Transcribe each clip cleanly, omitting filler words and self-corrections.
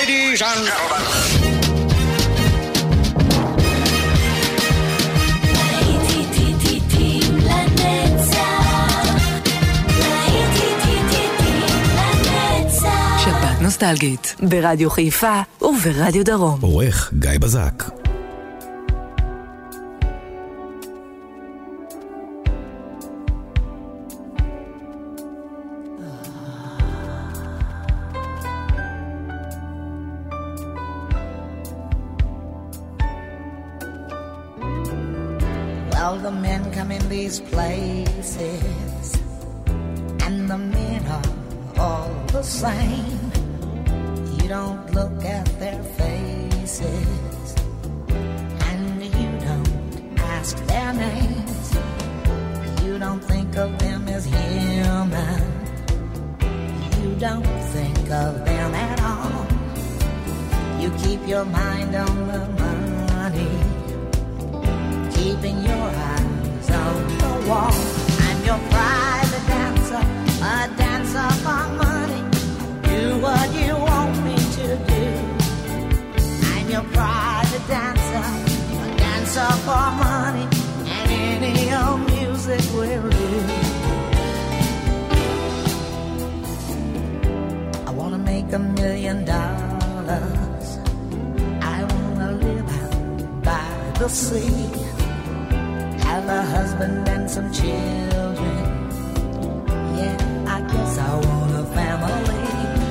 Ladies and gentlemen. שבת נוסטלגית ברדיו חיפה וברדיו דרום. עורך גיא בזק. Well, the men come in these places, and the men are all the same. You don't look at their faces, and you don't ask their names. You don't think of them as human. You don't think of them at all. You keep your mind on the money, keeping your eyes on the wall. I'm your private dancer, a dancer for money. Do what you want me to do. I'm your private dancer, a dancer for money, and any old music will do. I wanna make $1 million. I wanna live out by the sea, have a husband and some children. Yeah, I guess I want a family.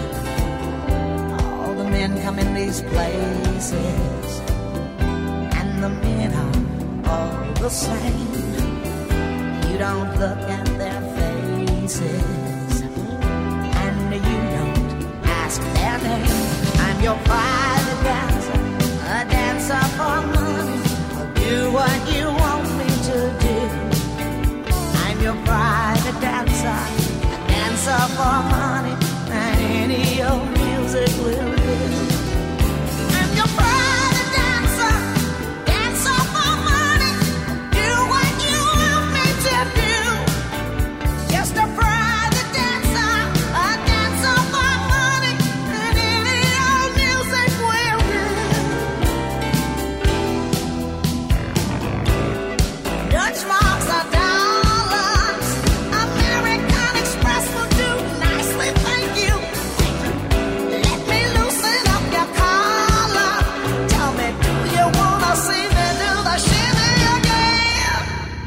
All the men come in these places, and the men are all the same. You don't look at their faces, and you don't ask their name. I'm your private dancer, a dancer for money. Do what you want me to do. I'm your private dancer, a dancer for money, and any old music will do. I'm your private dancer, dancer for money. Do what you want me to do. Just a private dancer, a dancer for money, and any old music will do. Dutch marks are dollars. American Express will do nicely, thank you. Let me loosen up your collar. Tell me, do you wanna see me do the shimmy again?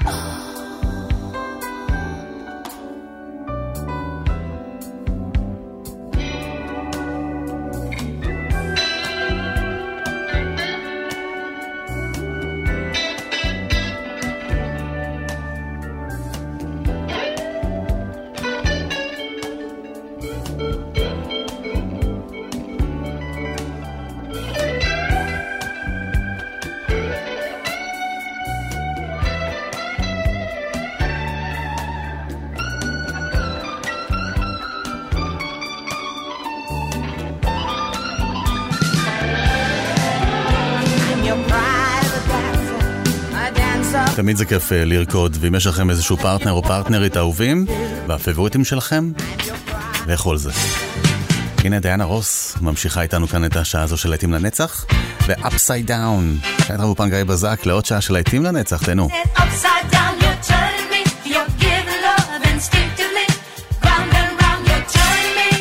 I'm your private dancer, a dancer. תמיד זה כיף לרקוד, ואם יש לכם איזשהו פרטנר או פרטנרית אהובים והפבוריטים שלכם, לכו על זה. הנה דיאנה רוס ממשיכה איתנו כאן את השעה הזו של להיטים לנצח, ו-Upside Down. כאן רבו גיא בזק לעוד שעה של להיטים לנצח, תנו. Upside down, you're turning me. You're giving love instinctively. Round and round, you're turning me.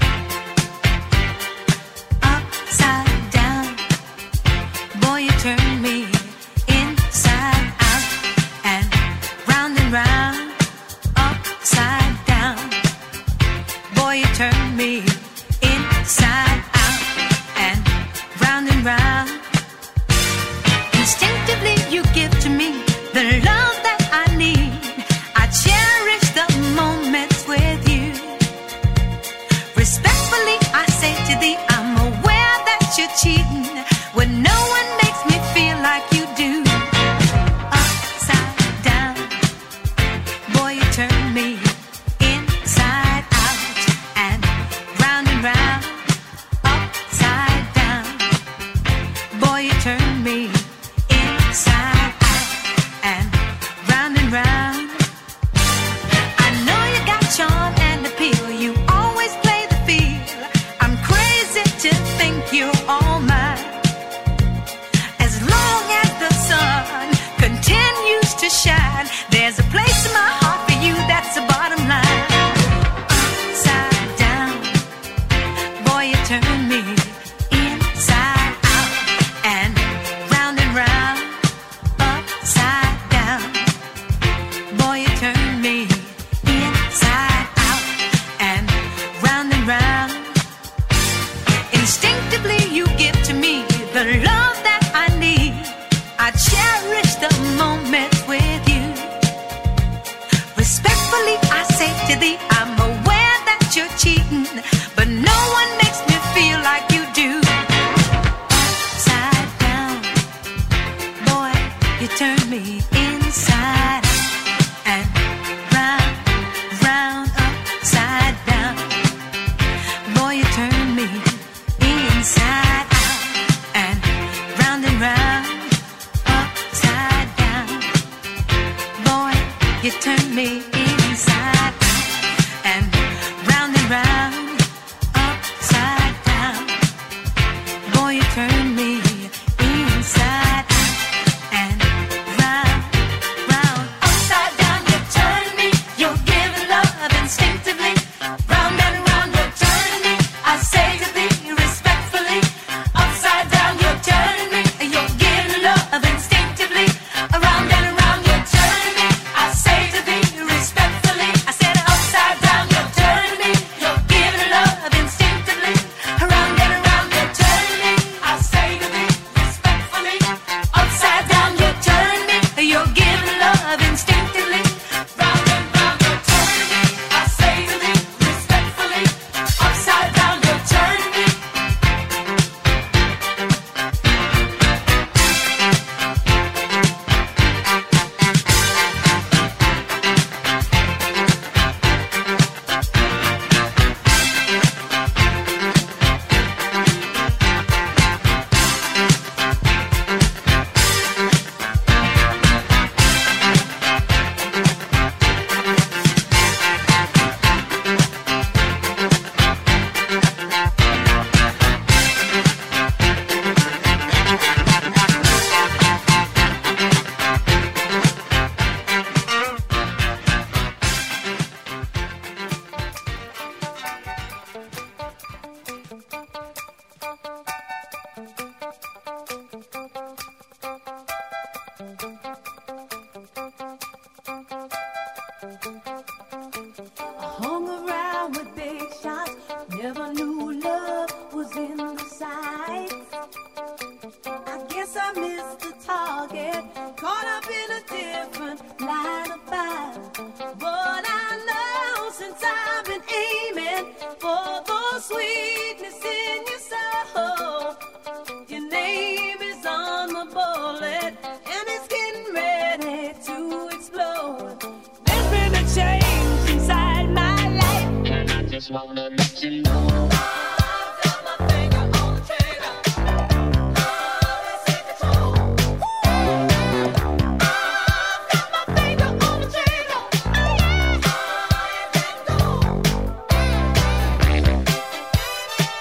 Upside down, boy, you turn me inside out and round. Upside down, boy, you turn me inside out and round. Instinctively, you give to me the love that turn me inside out and round, upside down. Boy, you turn me inside out and round. Instinctively you give to me the love that I need. I cherish the moment with you. Respectfully I say to thee, I'm aware that you're cheating, but no one makes me feel like you do. Upside down, boy, you turn me inside out and round, upside down. Boy, you turn me inside out and round, upside down. Boy, you turn me inside out and round, upside down. Boy, you turn me inside out and round, upside down. You turn me, you're giving love instinctively. Round and round, you turn me. I say to thee respectfully, upside down, you turn me. You're giving love instinctively. Around and around, you turn me. I say to thee respectfully. I said upside down, you turn me. You're giving love instinctively. Around and around, you turn me. I say to thee respectfully. Upside down, you turn me. You're giving love instinctively. Round and round, you turn me. I say to thee respectfully. Upside down, you turn me. Hung around with big shots, never knew love was in the sights. I guess I missed the target, caught up in a different line of fire. But I know since I've been aiming for the sweetness in your soul, your name is on the bullet and it's getting ready to explode. There's been a change inside my life, and I just wanna let you know. I've got my finger on the trigger. Love is in control. I've got my finger on the trigger. Fire and go.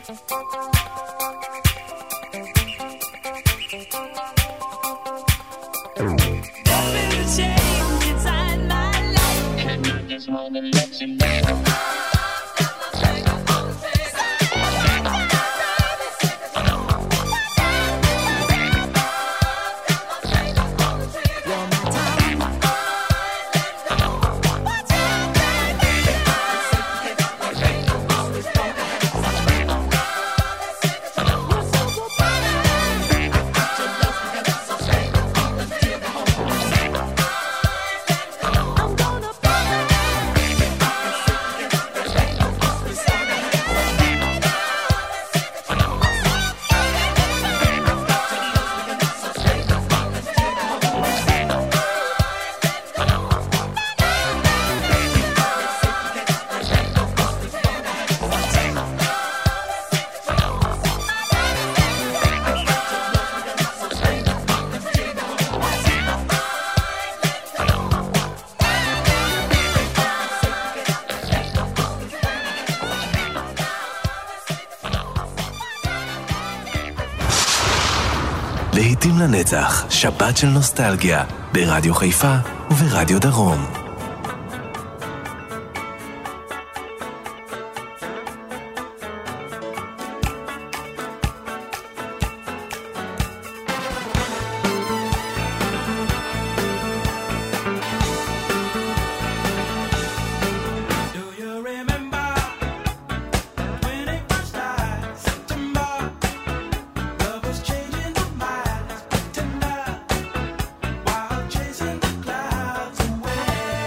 להיטים לנצח, שבת של נוסטלגיה, ברדיו חיפה וברדיו דרום. Chasing the clouds away.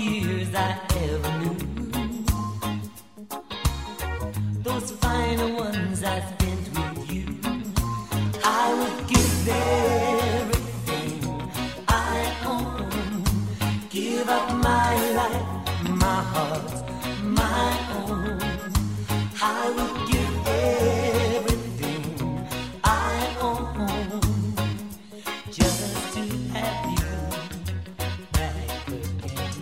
years I ever knew. Those final ones I spent with you, I would give everything I own, give up my life, my heart, my own. I would give everything I own just to have you back again.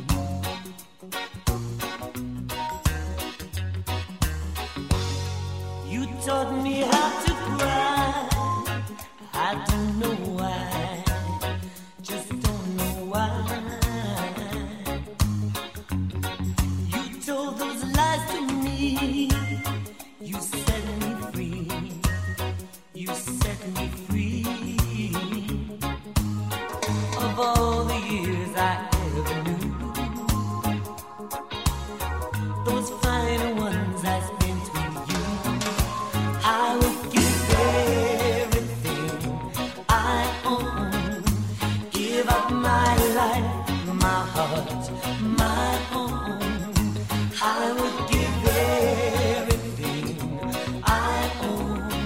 You taught me how to cry. I don't know why, just don't know why. You told those lies to me. You set me free. You set me free of all the years I ever knew. Those final ones I spent with you, I would give everything I own, give up my life, my heart, my own. I would give everything I own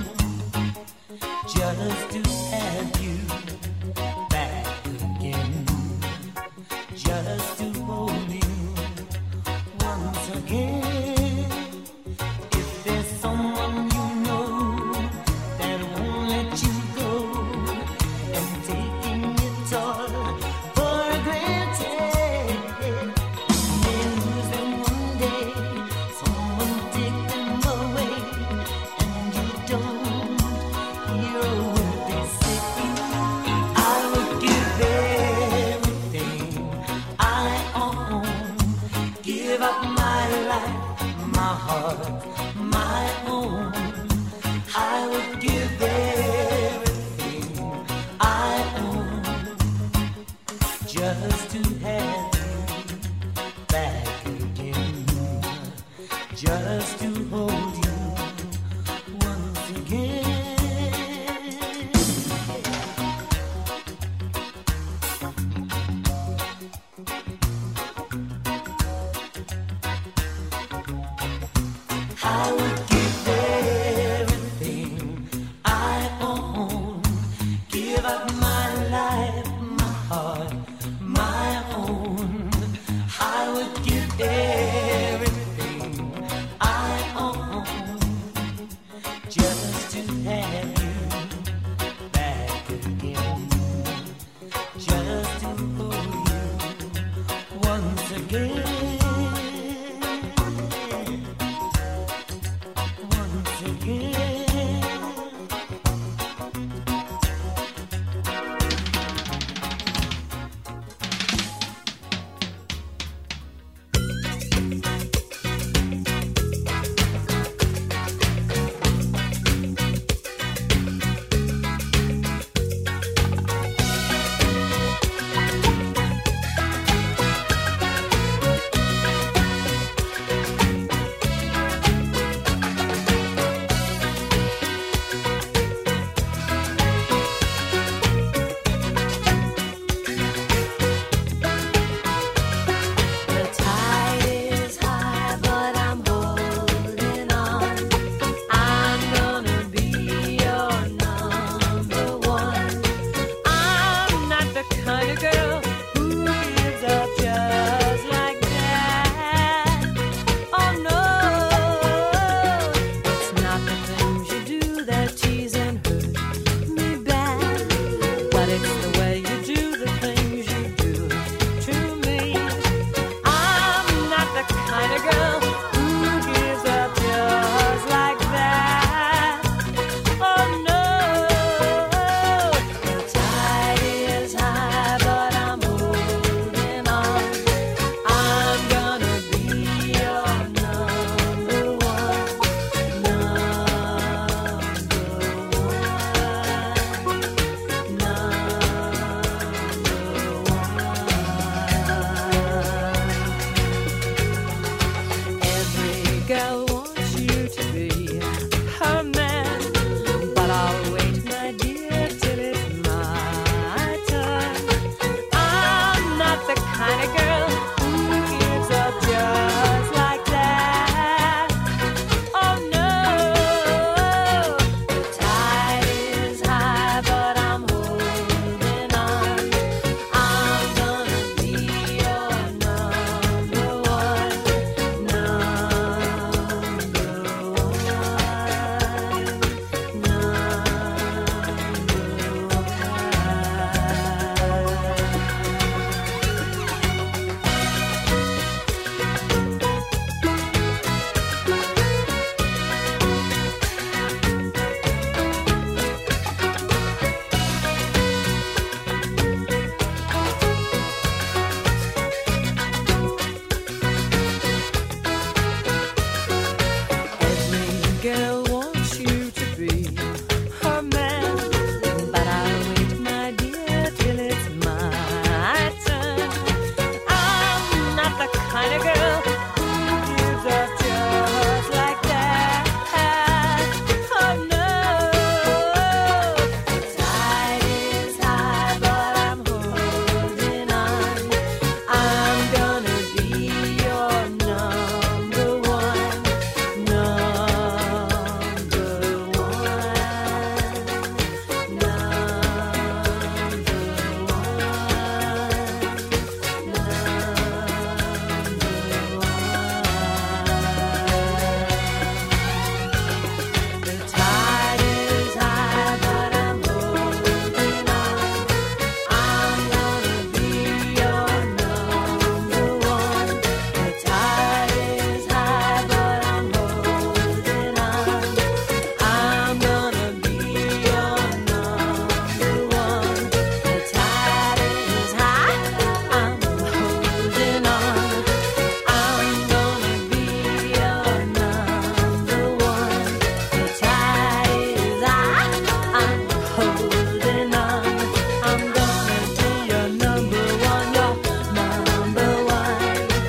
just to have you back again, just to hold you once again. If there's someone you know that won't let you go and taking it all for granted, then lose them one day, someone take them away, and you don't hear a word they say. I would give everything I own, give up my life, my heart, my own. I would give everything I own just to have you back again, just to hold you once again. I would give everything I own, give up my life, my heart, my own. I would give everything I own just to have you back again, just to hold you once again. Once again. find a girl who gives us just like that. Oh no, the tide is high, but I'm holding on. I'm gonna be your number one, number The tide is high, but I'm holding on. I'm gonna be your number one. The tide is high, but I'm holding on. I'm gonna be your number one. The tide is high, I'm holding on. I'm gonna be your number one. The tide is high, I'm holding on. I'm gonna be your number one, your number one.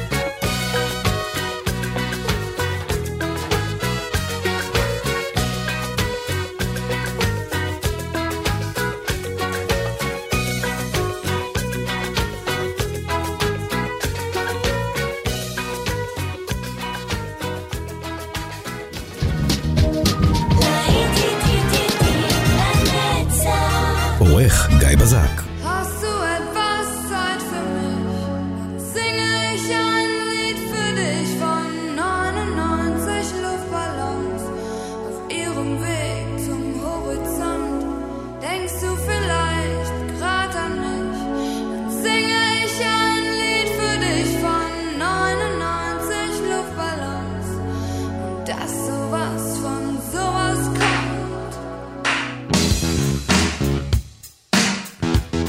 עורך גיא בזק. Hast du etwas Zeit für mich? Singe ich ein Lied für dich von 99 Luftballons auf ihrem Weg zum Horizont. Denkst du vielleicht grad an mich? Dann singe ich ein Lied für dich von 99 Luftballons und dass sowas von sowas kommt.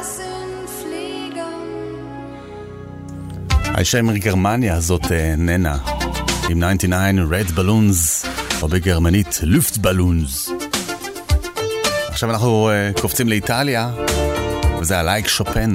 sind Fliegern. האישה מגרמניה זאת ננה עם 99 Red Balloons, או בגרמנית Luftballons. עכשיו אנחנו קופצים לאיטליה, וזה הלייק שופן.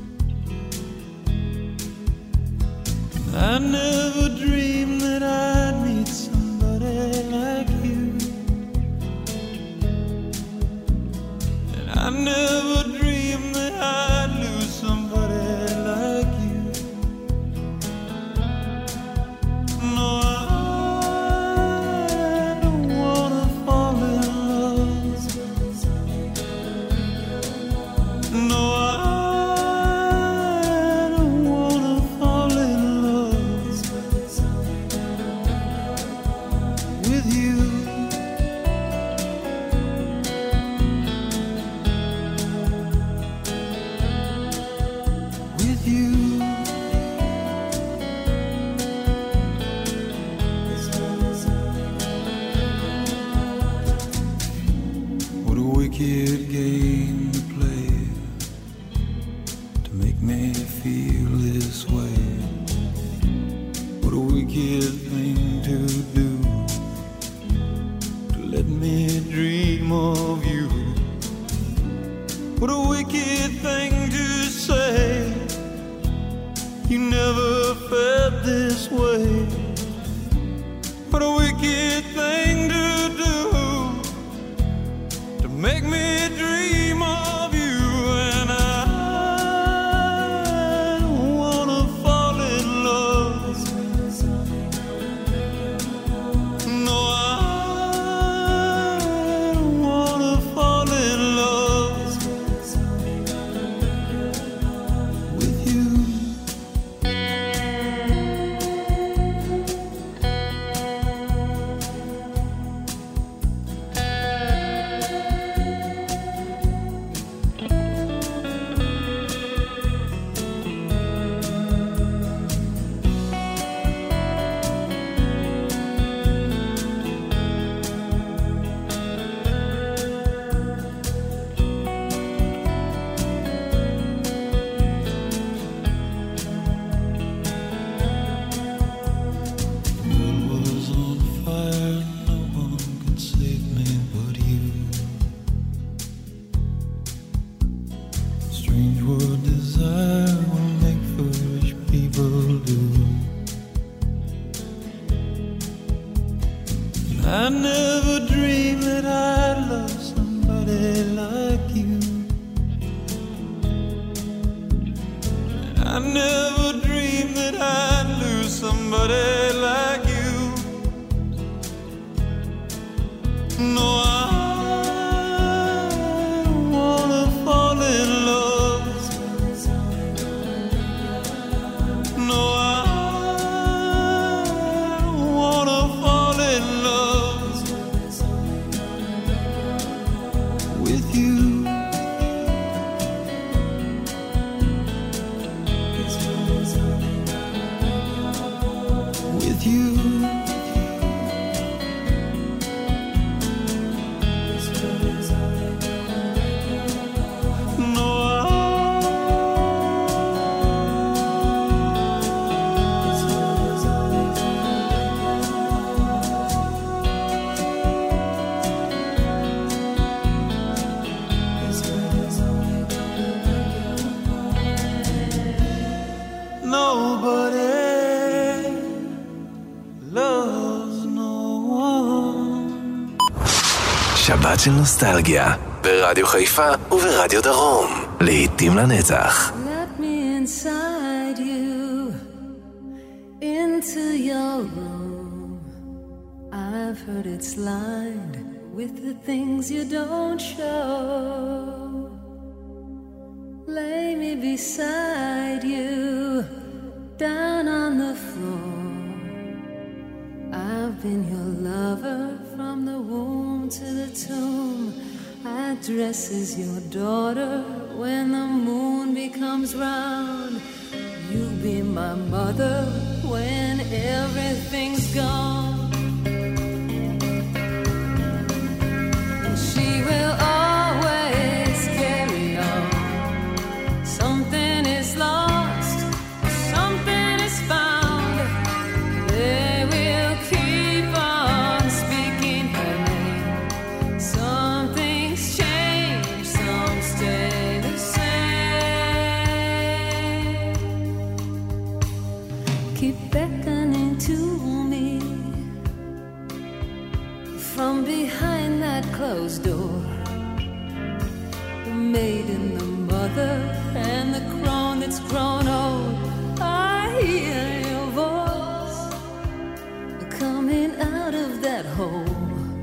I never dreamed that I'd never dreamed that I'd lose somebody like you. No, I don't wanna fall in love. No, I don't wanna fall in love with you. With you. What a wicked game to play to make me feel this way. What a wicked thing to do to let me dream of you. What a wicked thing to say. You never felt this way. What a wicked thing to do to make me dream of you. And I don't wanna fall in love. No, I don't wanna fall in love with you. I never dreamed that I'd love somebody like you. I never dreamed that I'd lose somebody like you. No, I don't wanna fall in love. No, I don't wanna fall in love with you. With you. No, nobody loves no one. שבת של נוסטלגיה, ברדיו חיפה וברדיו דרום. לעתים לנצח. Let me inside you, into your room. I've heard it's lined with the things you don't show. Lay me beside you, down on the floor. I've been your lover from the womb to the tomb. I dress as your daughter when the moon becomes round. You be my mother when everything's gone. And she will always carry on. Something is lost, something is found. They will keep on speaking her name. Some things change, some stay the same. Keep beckoning to me from behind that closed door. The maiden, the mother, and the crown that's grown old. I hear your voice coming out of that hole.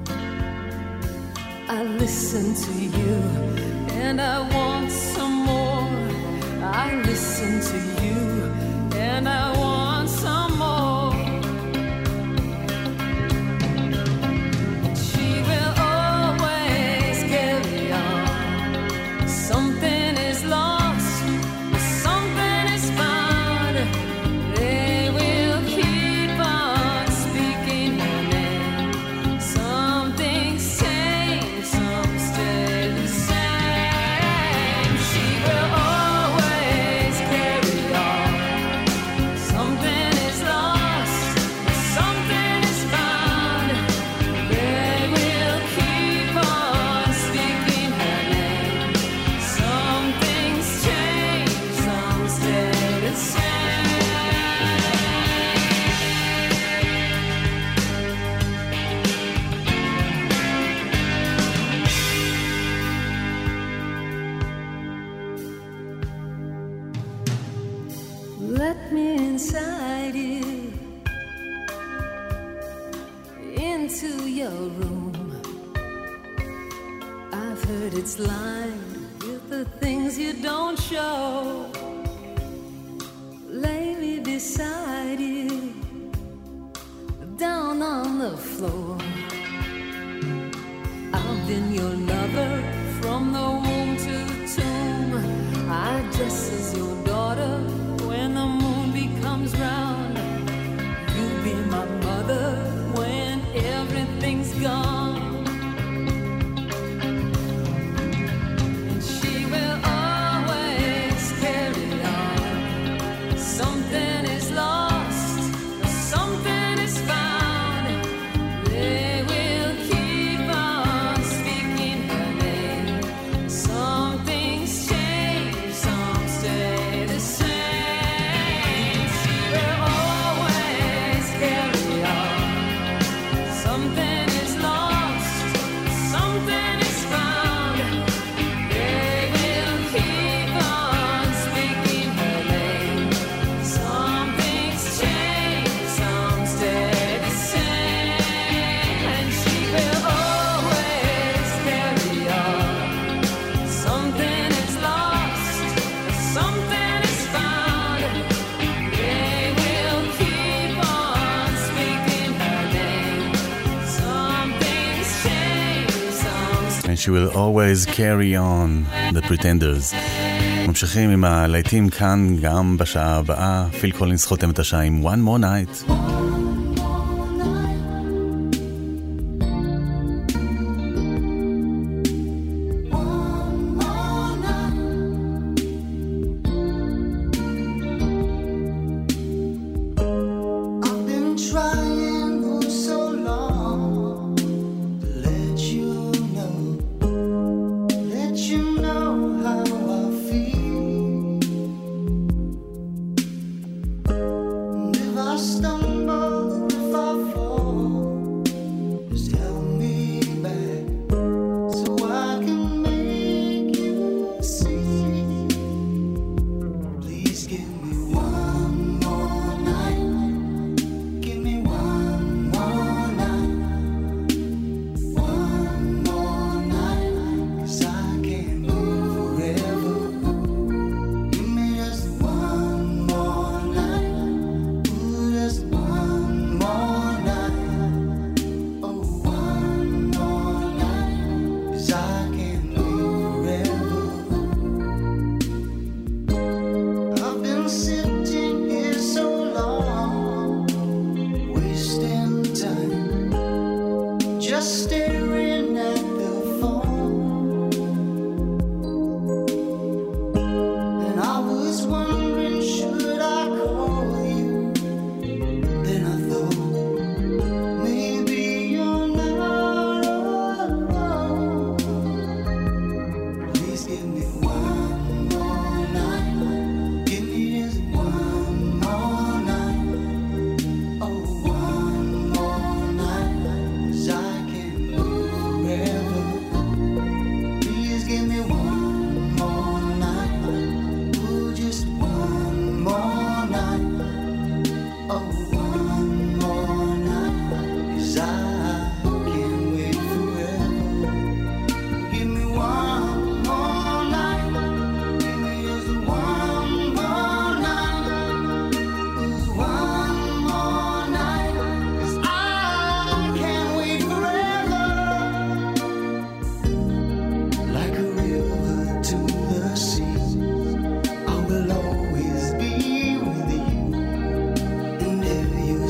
I listen to you and I want some more. I listen to you and I want some more. She will always carry on. Something is lost, something is found. They will keep on speaking her name. Some things change, some stay the same. She will always carry on. Something is lost, something is found. They will keep on speaking her name. Some things change, some stay the same. Let me inside you, into your room. I've heard it's lined with the things you don't show. Lay me beside you, down on the floor. I've been your lover from the womb to the tomb. I dress as your daughter when the moon becomes round. You be my mother when everything's gone. And she will always carry on. Something is lost, something is found. They will keep on speaking her name. Some things change, some stay the same. She will always carry on. Something is lost, something is found. They will keep on speaking her name. Some things change, some stay the same. And she will always carry on. Something is lost, something is found. They will keep on speaking her name. Some things change, some And she will always carry on, The Pretenders. ממשיכים עם הלהיטים כאן גם בשעה הבאה. פיל קולינס חותם את השעה עם One More Night. I've been trying for so long to let you know how I feel. And if I stumble, if I fall, just help me back so I can make you see. Please give me one more night. Give me one more night. One more night. 'Cause I can't live forever. Give me just one more night. Ooh, just one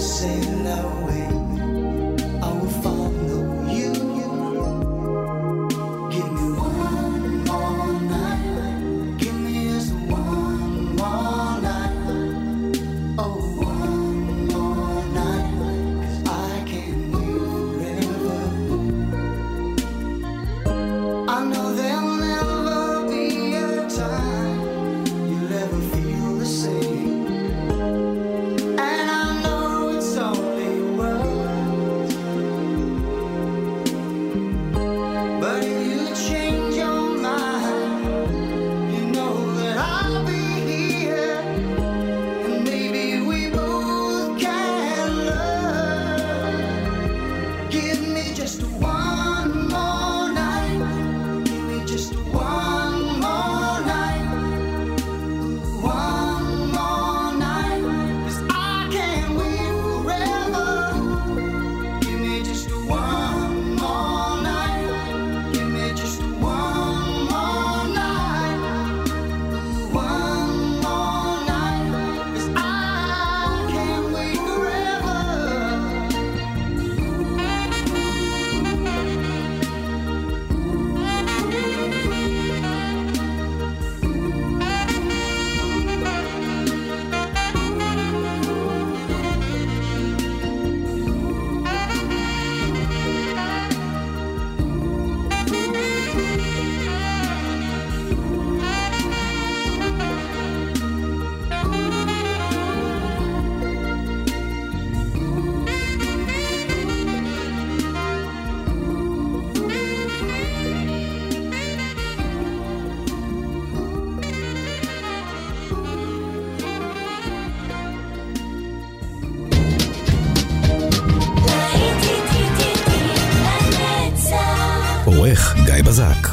sail away. I will follow you. Give me one more night. Give me just one more night. Oh, one more night. 'Cause I can't wait forever. I know there'll never be a time you'll ever feel the same. And I know it's only words, but if you change your mind, you know that I'll be here, and maybe we both can learn. Give me just one more night. Give me just one more night. One more night. 'Cause I can't wait forever. Give me just one more night. Give me just one more night. One more night. 'Cause I can't wait forever. עורך גיא בזק.